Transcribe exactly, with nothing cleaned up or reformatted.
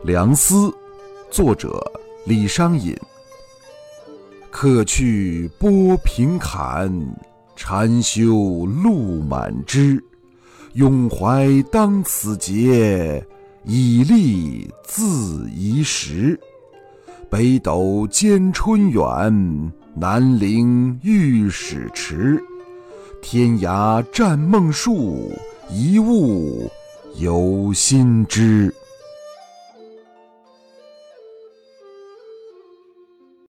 梁思，作者李商隐。客去波平坎，禅修路满枝。咏怀当此节，以立自宜时。北斗兼春远，南陵御史迟。天涯占梦树，一物犹新枝。